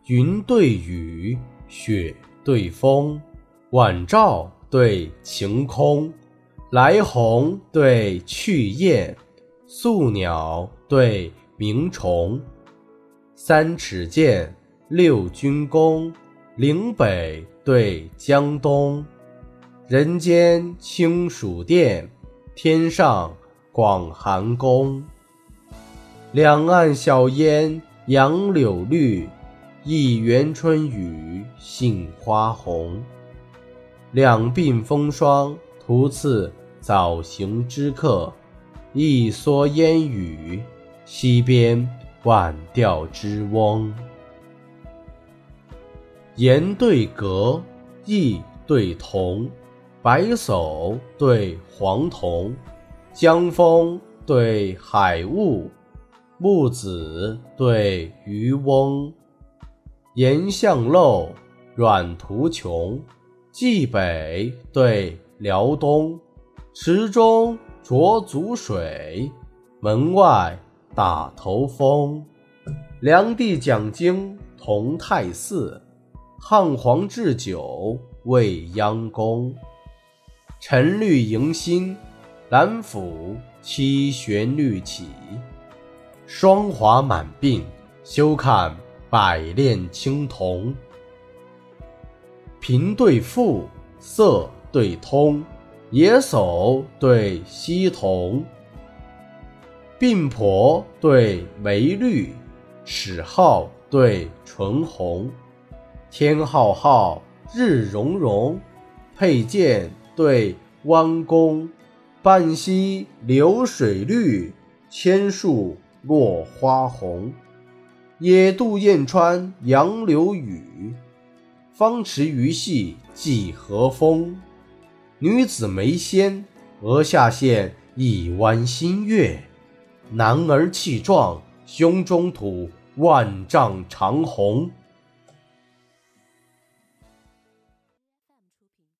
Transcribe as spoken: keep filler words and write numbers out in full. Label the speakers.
Speaker 1: 云对雨，雪对风，晚照对晴空，来鸿对去雁，宿鸟对鸣虫。三尺剑，六钧弓，岭北对江东。人间清暑殿，天上广寒宫。两岸晓烟杨柳绿，一园春雨杏花红。两鬓风霜途次早行之客，一蓑烟雨溪边晚钓之翁。言对格，意对同，白叟对黄童，江风对海雾，木子对渔翁。岩巷陋，阮途穷，冀北对辽东。池中濯足水，门外打头风。梁帝讲经同泰寺，汉皇置酒未央宫。晨绿迎新，兰府七旋律起。霜华满鬓，休看百炼青铜。贫对富，色对通，野叟对溪童。鬓婆对眉绿，齿皓对唇红。天浩浩，日融融，佩剑对弯弓。半溪流水绿，千树落花红。野渡燕穿杨柳雨，方池鱼戏几何风。女子眉纤，额下现一弯新月。男儿气壮，胸中吐万丈长虹。